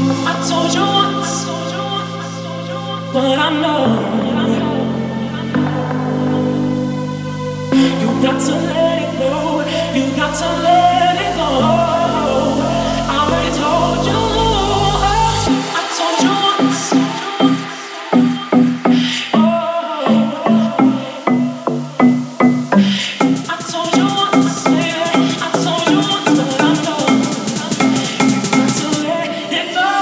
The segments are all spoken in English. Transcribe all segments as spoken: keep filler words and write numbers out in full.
I told you once, but I know you got to let it go. You got to let it go. I already told you. I told you once. I told you once, yeah. I told you once, but I know you got to let it go.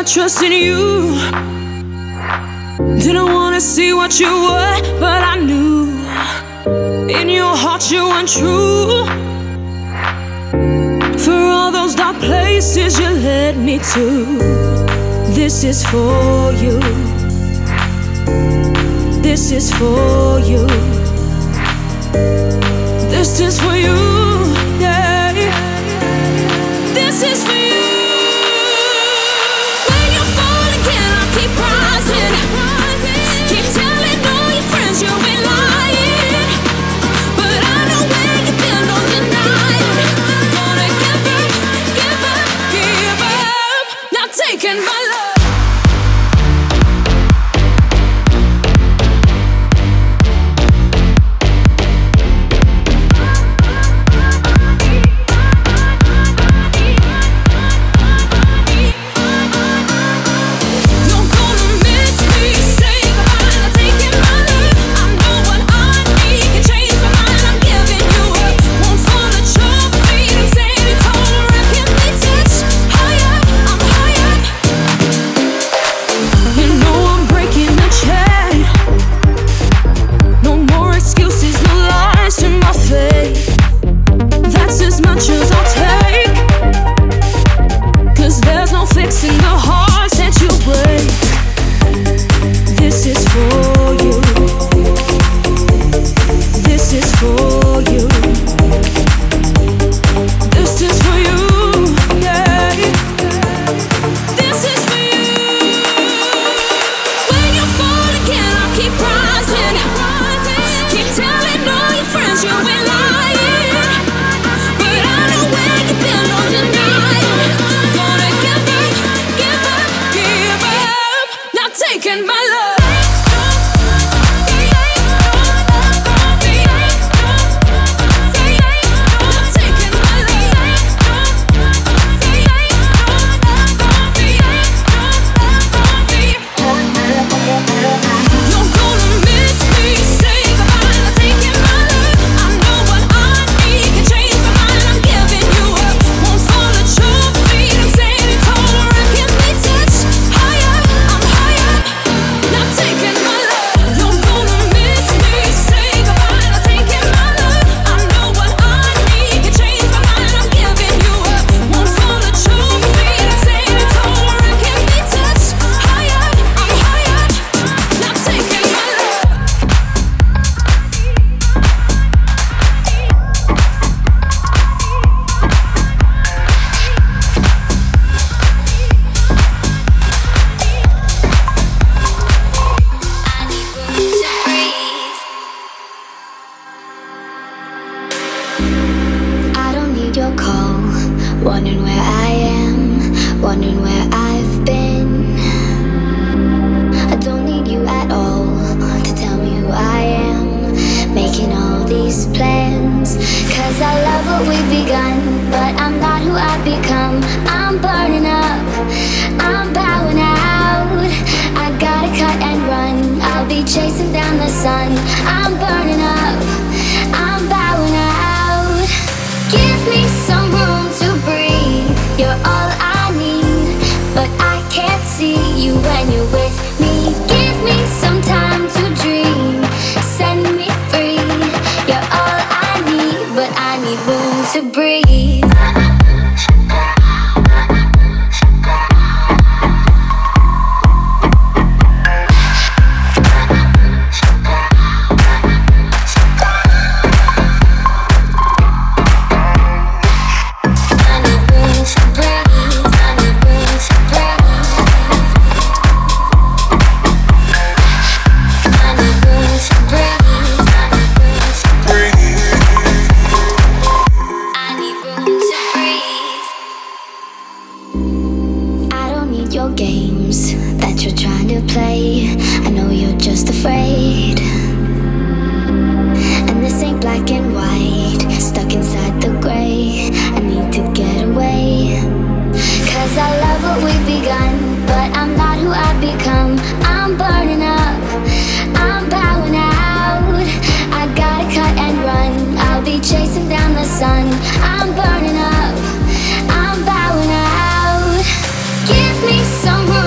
trust in you. Didn't wanna see what you were, but I knew in your heart you weren't true. For all those dark places you led me to, this is for you. This is for you. This is for you, yeah. This is for you. When you fall again, I'll keep rising. Keep telling all your friends you've been lying, but I know where you've been, don't deny it. Gonna give up, give up, give up. Not taking my love. I'm burning up. Give me some room.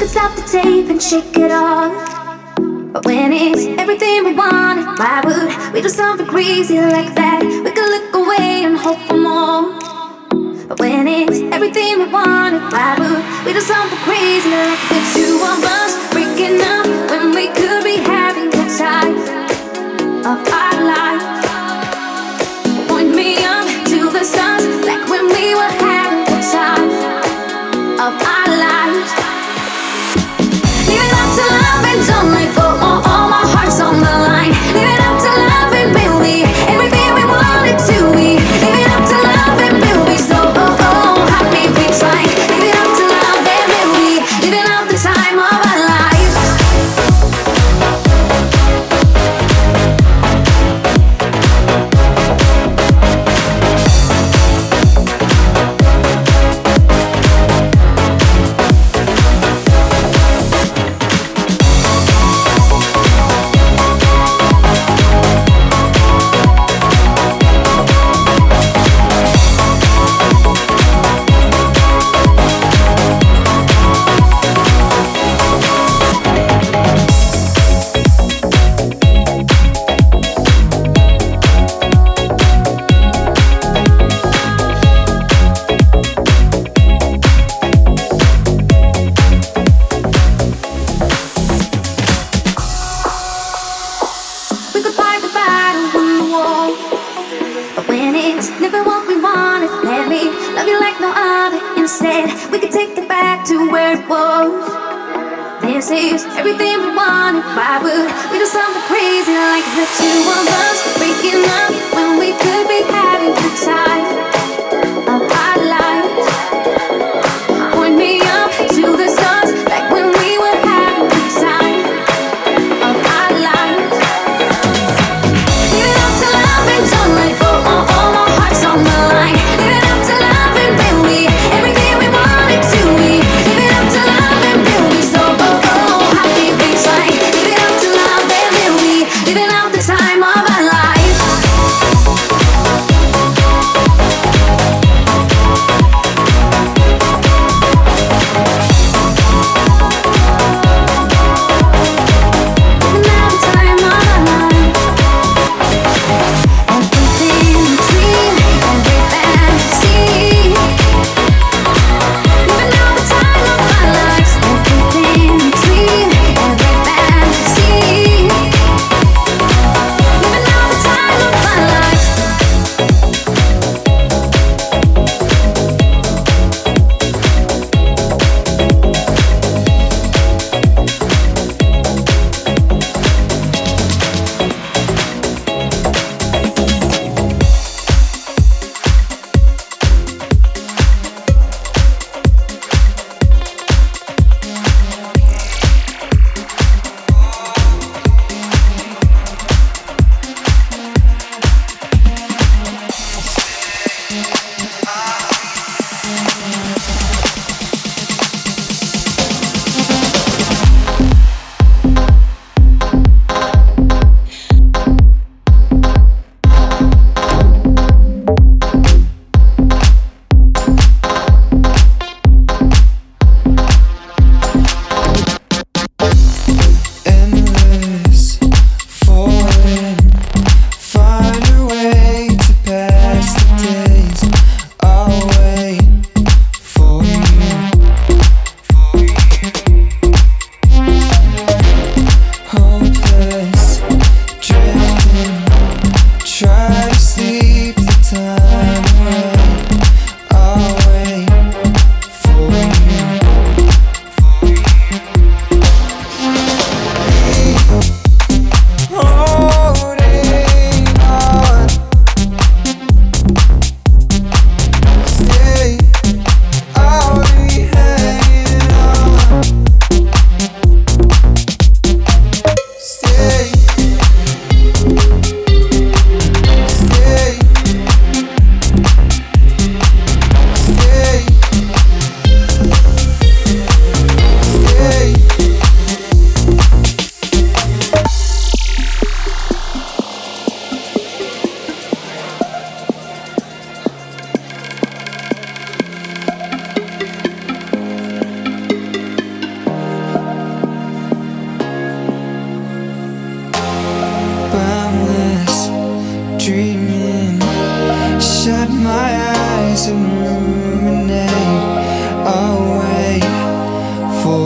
stop the tape and shake it off. But when it's everything we wanted, why would we do something crazy like that? We could look away and hope for more. But when it's everything we wanted, why would we do something crazy like the two of us breaking up when we could be having the time of our lives? Point me up to the stars like when we were having the time of our lives. Leave it up to love and don't let go. Oh, oh, my heart's on the line. Leave it up to love and we'll be everything we wanted to be. Leave it up to love and we'll be so oh oh happy we tried. Leave it up to love and we'll be living out the time of our lives. We could fight the battle, win the war. But when it's never what we wanted, let me love you like no other. Instead, we could take it back to where it was. This is everything we wanted. Why would we do something crazy like the two of us breaking up when we could be having the time of our lives? Point me up to the stars like when we were having the time of our lives. Leave it up to love and don't let go. Oh, oh, my heart's on the line. Leave it up to love and we'll be everything we wanted to be. Leave it up to love and we'll be so oh oh happy we tried. Leave it up to love and we'll be living out the time of our lives.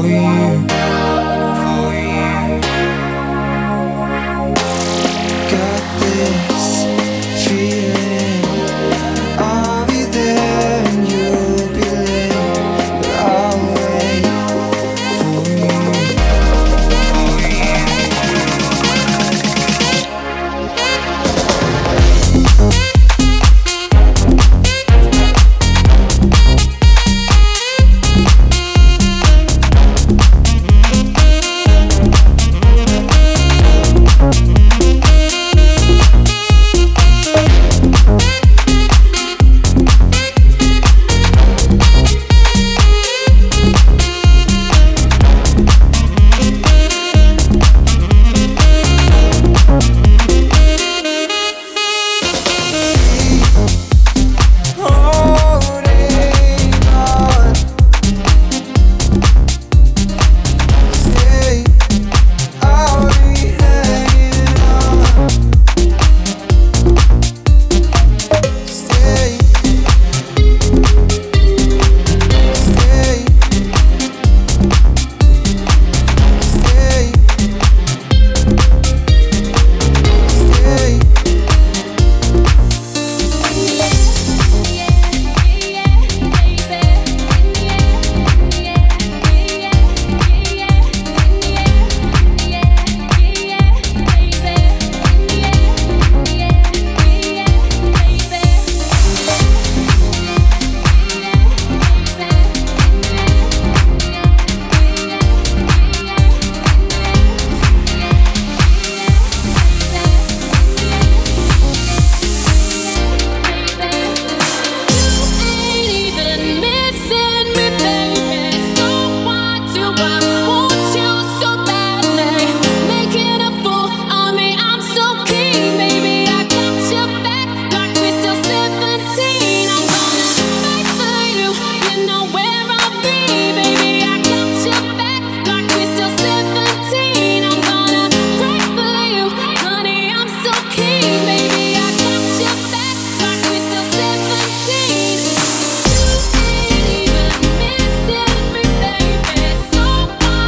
So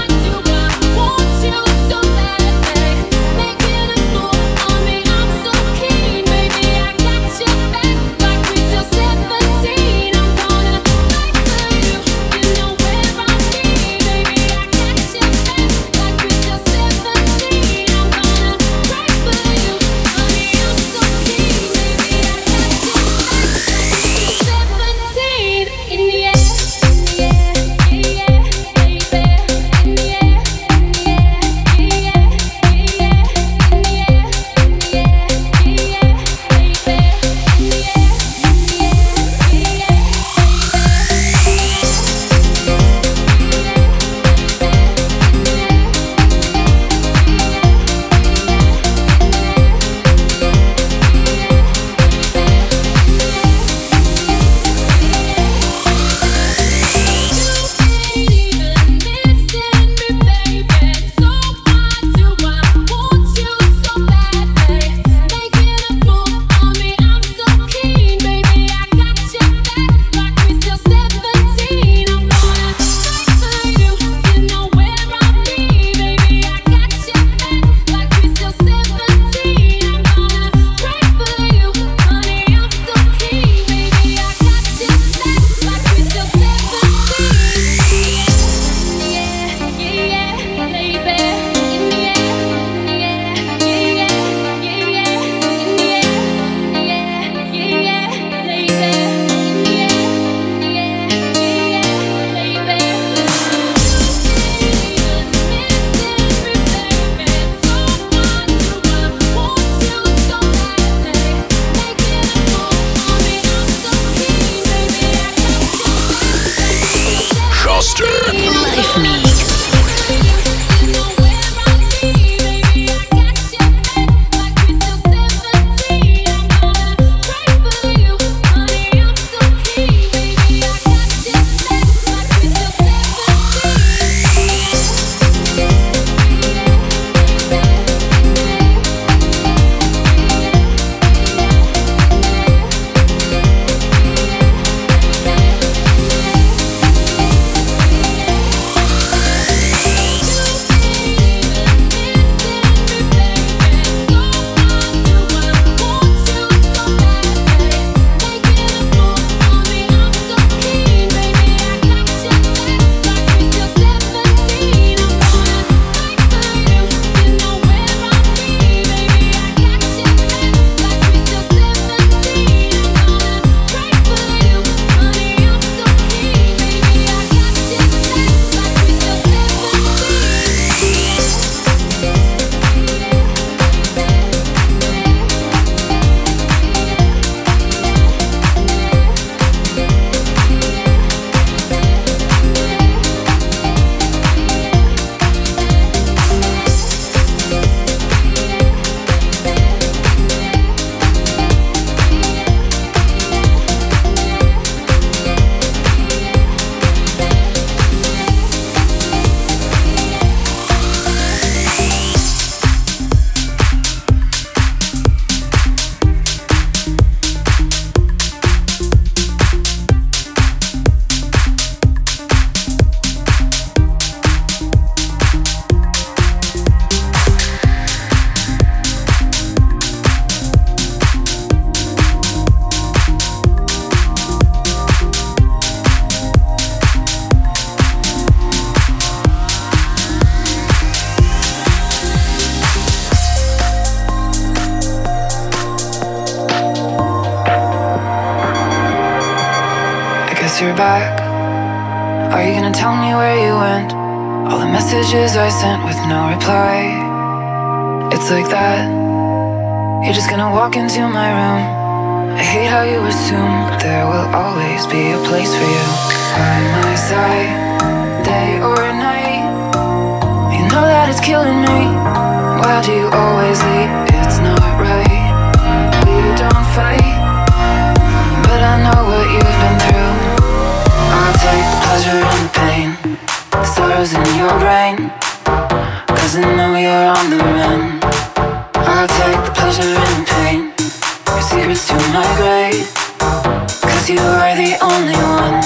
Are you gonna tell me where you went? All the messages I sent with no reply. It's like that. You're just gonna walk into my room. I hate how you assume there will always be a place for you by my side, day or night. You know that it's killing me. Why do you always leave? It's not right. We don't fight, but I know what you've been through. I'll take the pleasure and the pain, the sorrows in your brain, cause I know you're on the run. I'll take the pleasure and the pain, your secrets to my grave, cause you are the only one.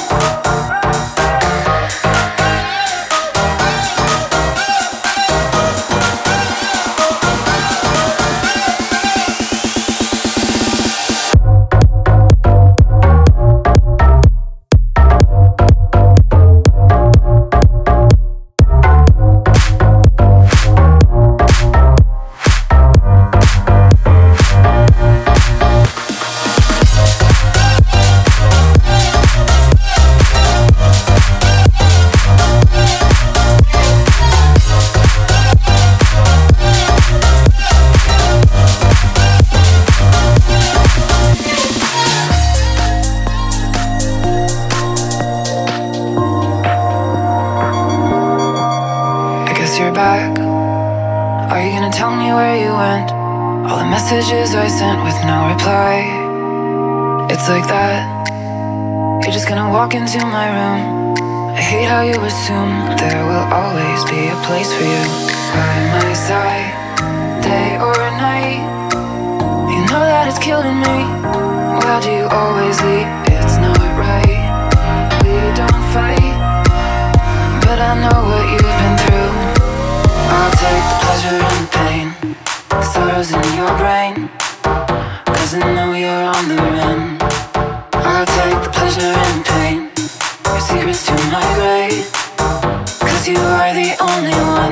Messages I sent with no reply. It's like that. You're just gonna walk into my room. I hate how you assume there will always be a place for you by my side, day or night. You know that it's killing me. Why do you always leave? It's not right. We don't fight, but I know what you've been through. I'll take the pleasure and the pain, the sorrows in your brain, cause I know you're on the run. I'll take the pleasure and pain, your secrets to my grave, cause you are the only one.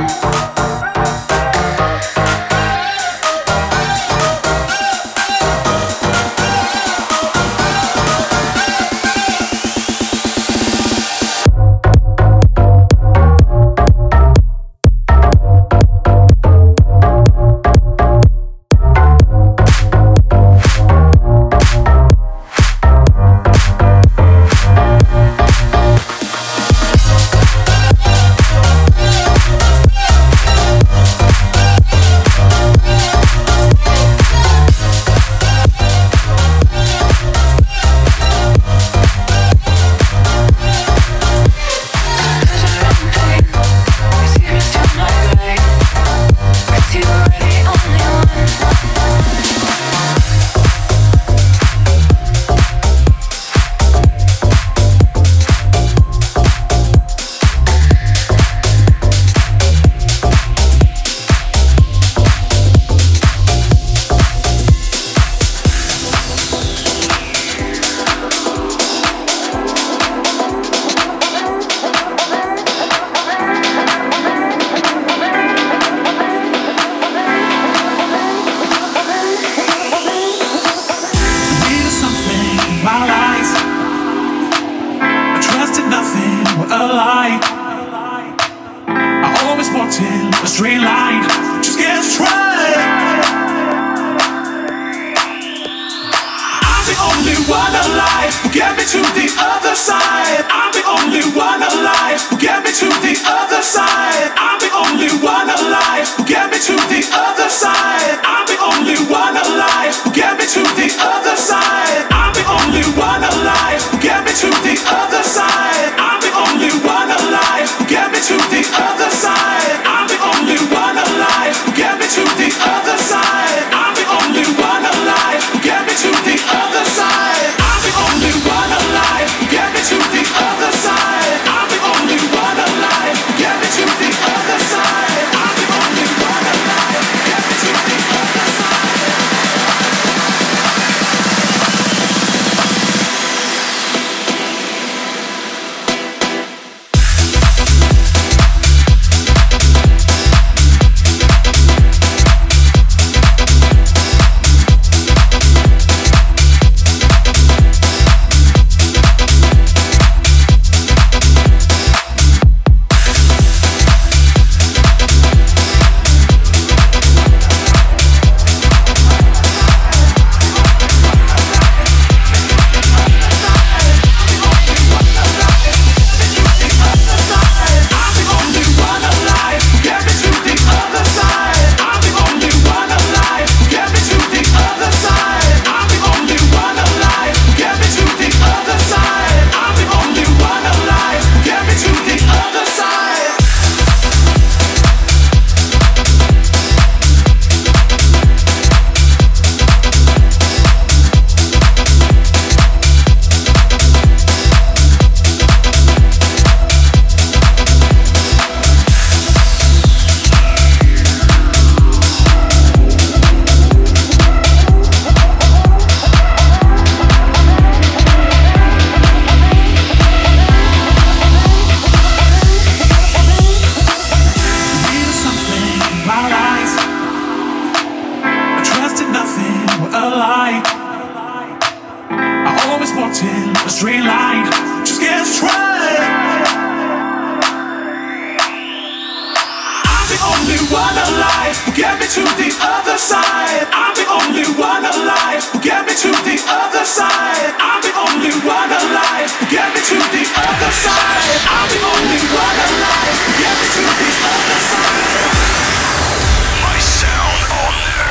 the only one alive who get me to the other side. I'm the only one alive who get me to the other side. I'm the only one alive who get me to the other side. I'm the only one alive who get me to the other side. My sound on there.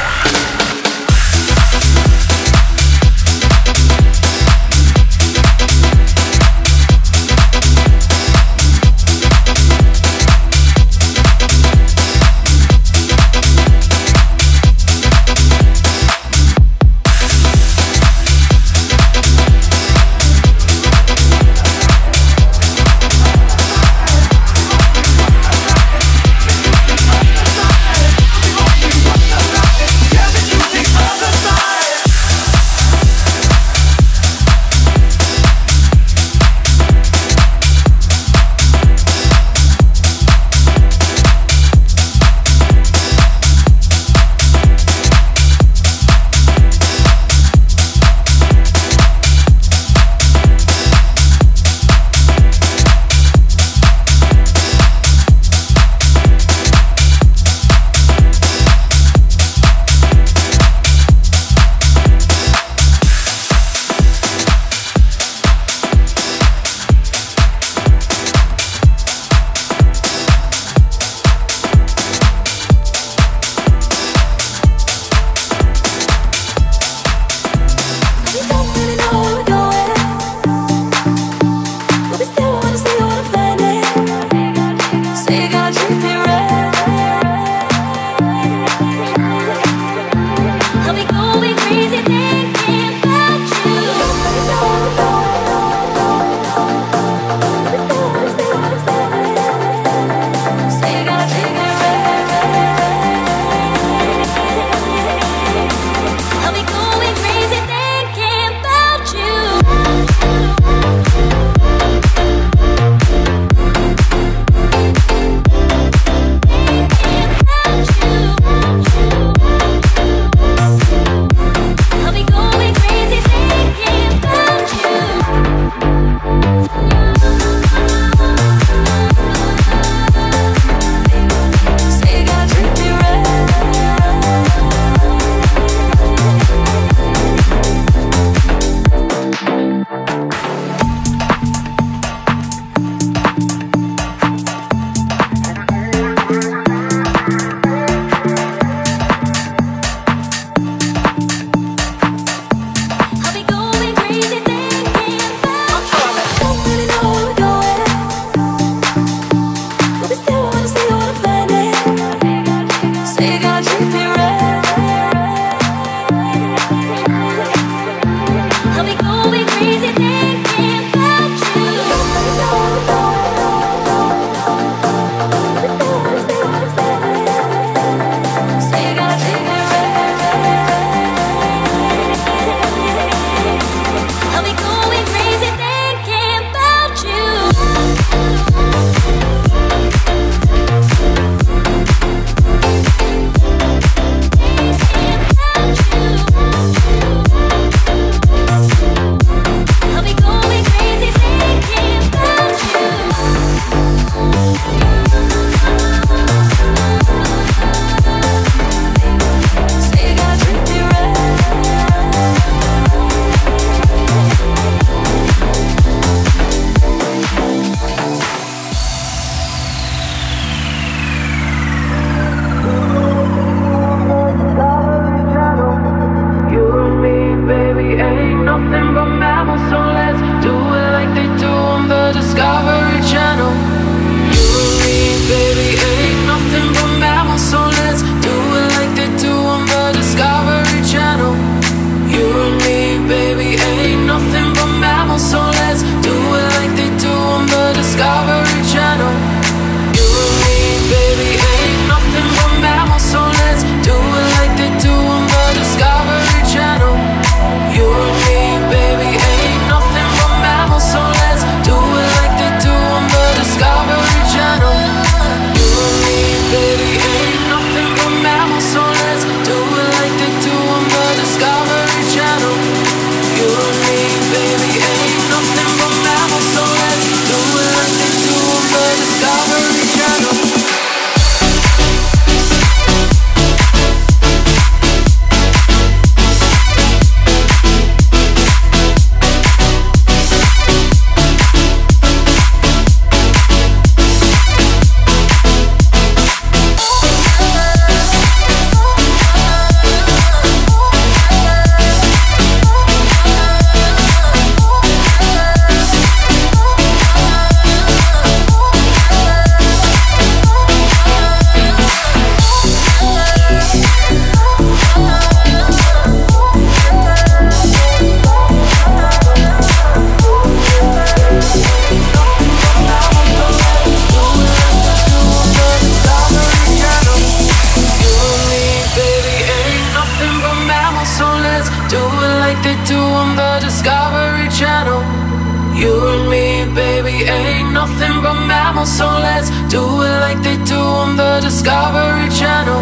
mammals, so let's do it like they do on the Discovery Channel.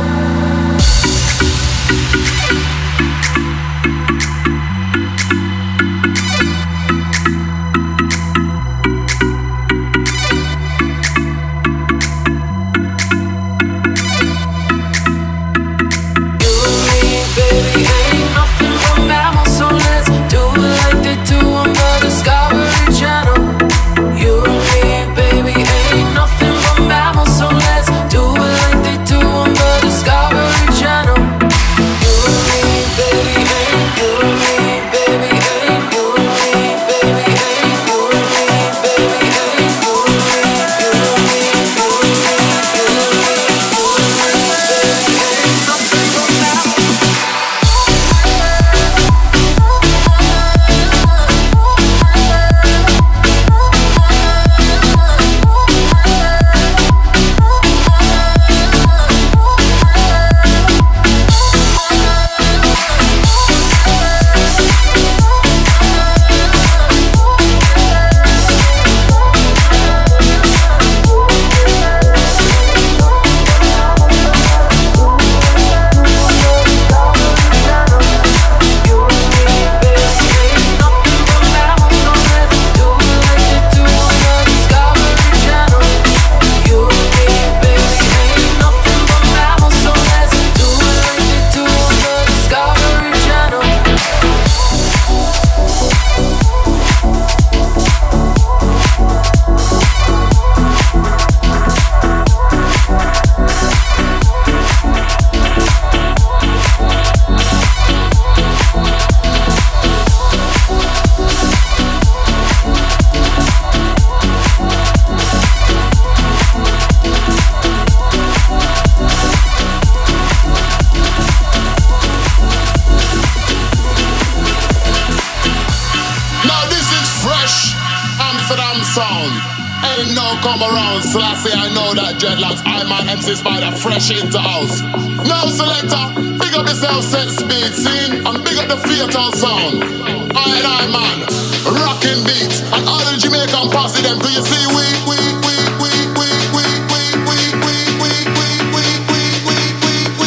Fresh into house. Now selector, big up yourself, set speed, scene, and big up the fatal sound. I and I man, rocking beats, and all the Jamaican posse them. Do you see we we we we we we we we we we we we we we we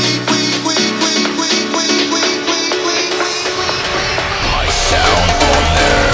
my sound on there.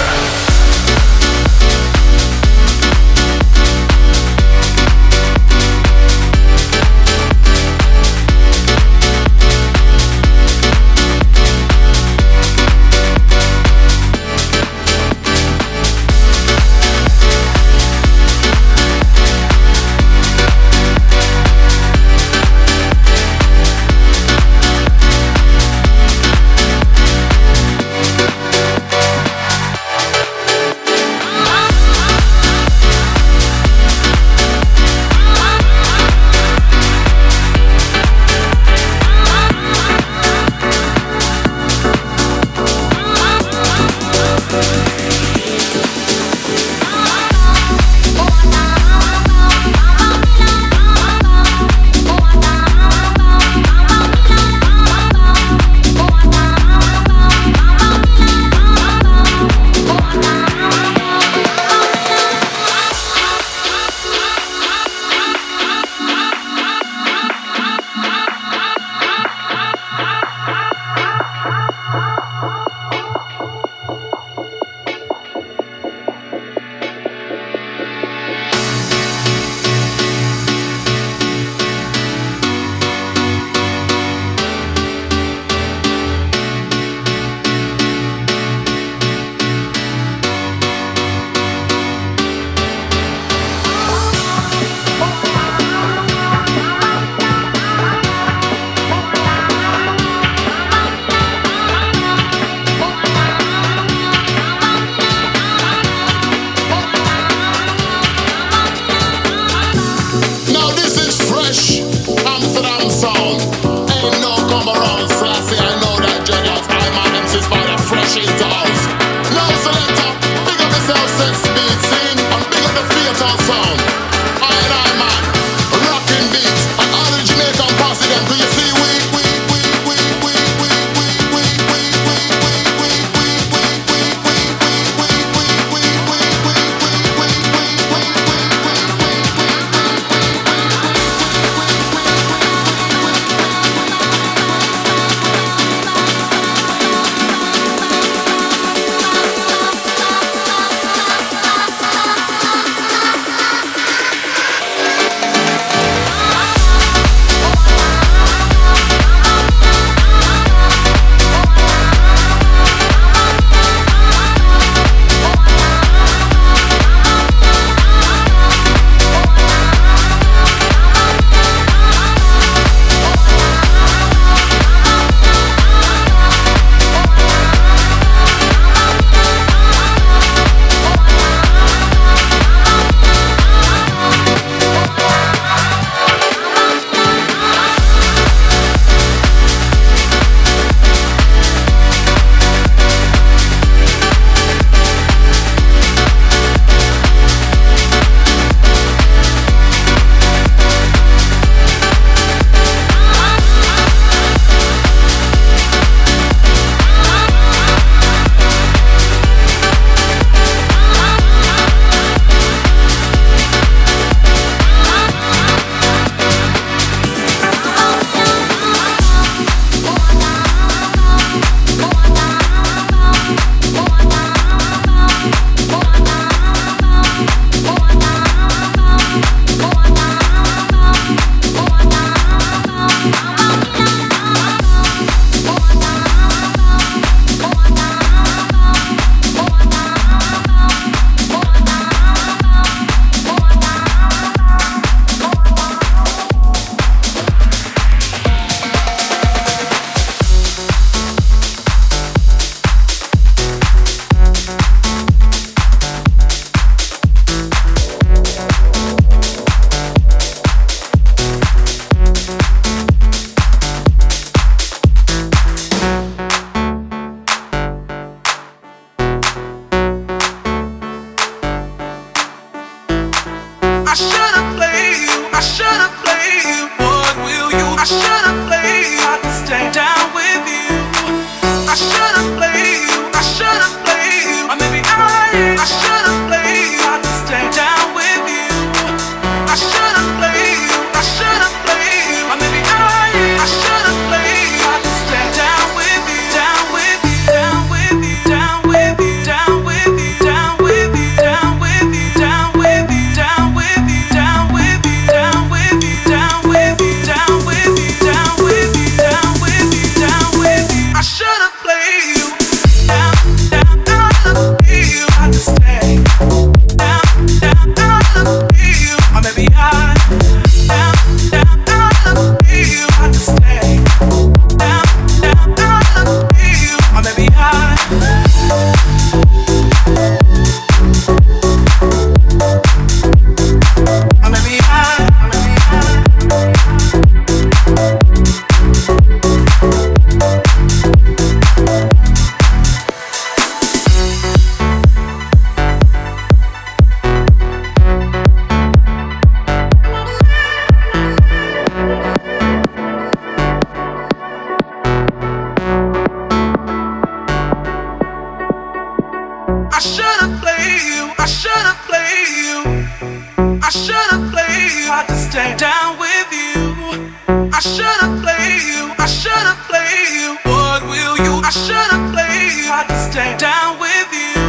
I should've played you, I should've played you. What will you? I should've played you. Had to stay down with you.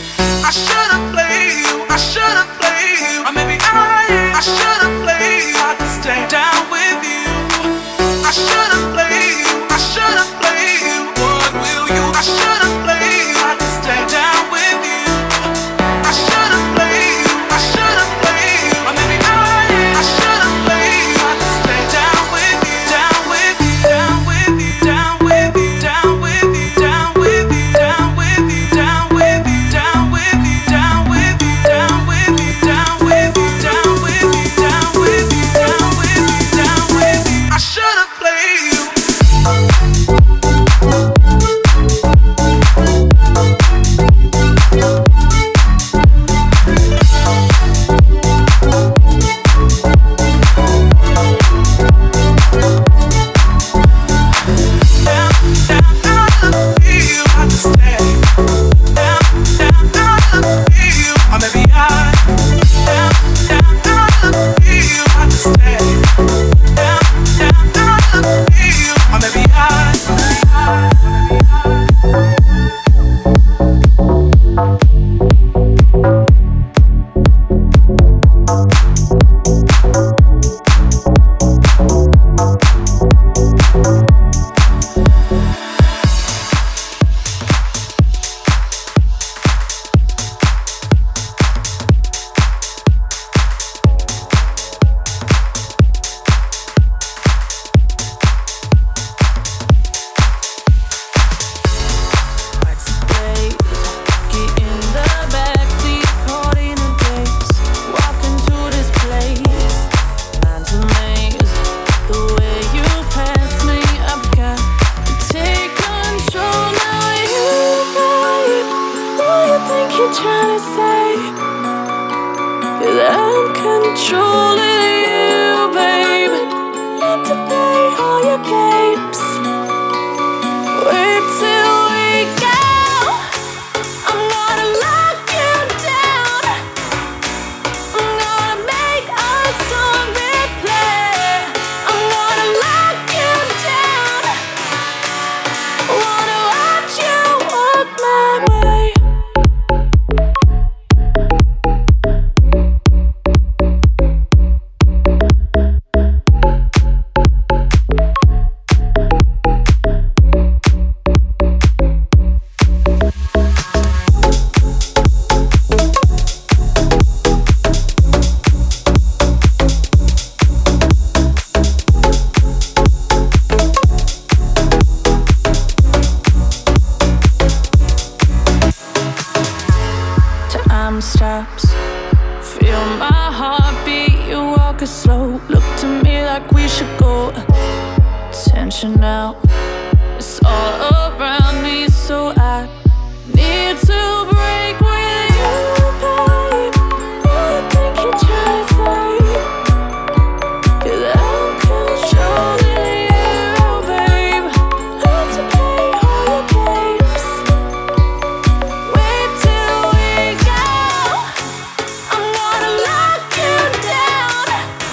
I should've played you, I should've played you. Or maybe I, I should've played you. Had to stay down with you. I should've played you, I should've played you. What will you? I should've played you. Had to stay down with you. I should've played you, I should've played you. Or maybe I, I should've played you. Had to stay down with you, down with you, down with you, down with you, down with you, down with you, down with you, down with you, down with you, down with you, down with you, down with you, down with you, down with you, down with you, down with you. I should've played you.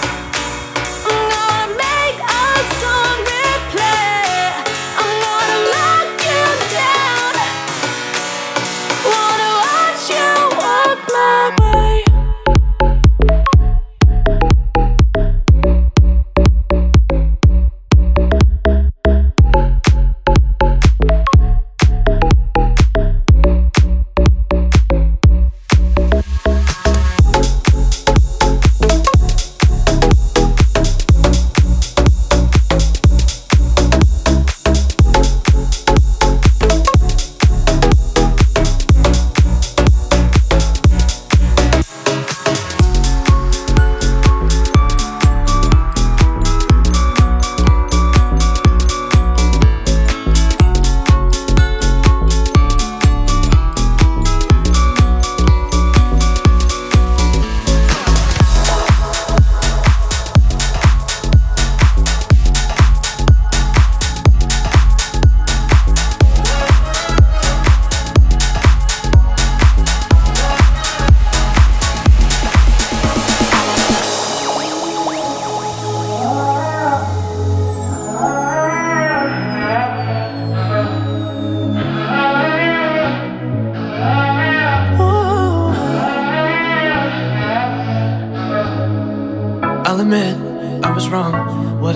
I'm gonna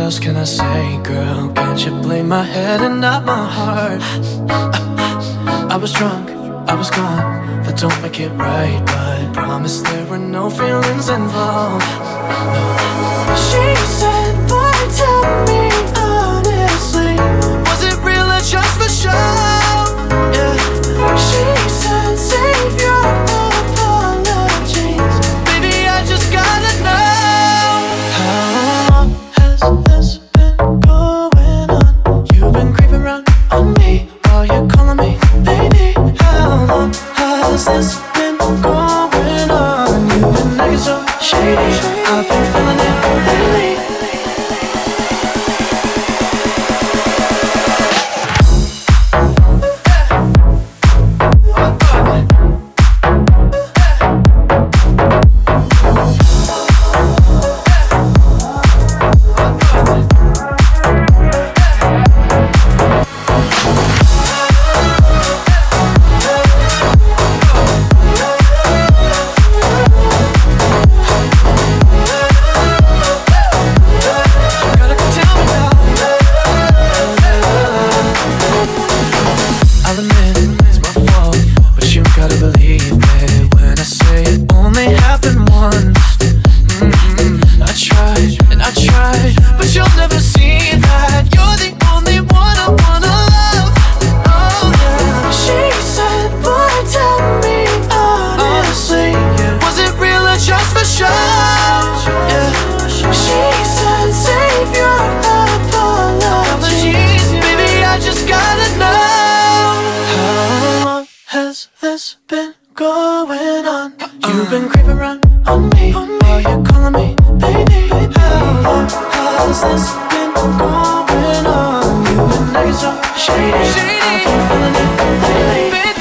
else can I say, girl? Can't you blame my head and not my heart? I, I was drunk, I was gone, that don't make it right, but I promise there were no feelings involved. No. She said, boy, tell me honestly, was it real or just for show? Yeah. She said, save your apologies, baby, I just gotta know. How long has this been going on? You've been creeping around on me while you're calling me baby. How long has this been going on? You've been acting so shady, I've been feeling it lately. You've been creeping around on me while you're calling me baby. How long has this been going on? You've been acting so shady, I've been feeling it lately.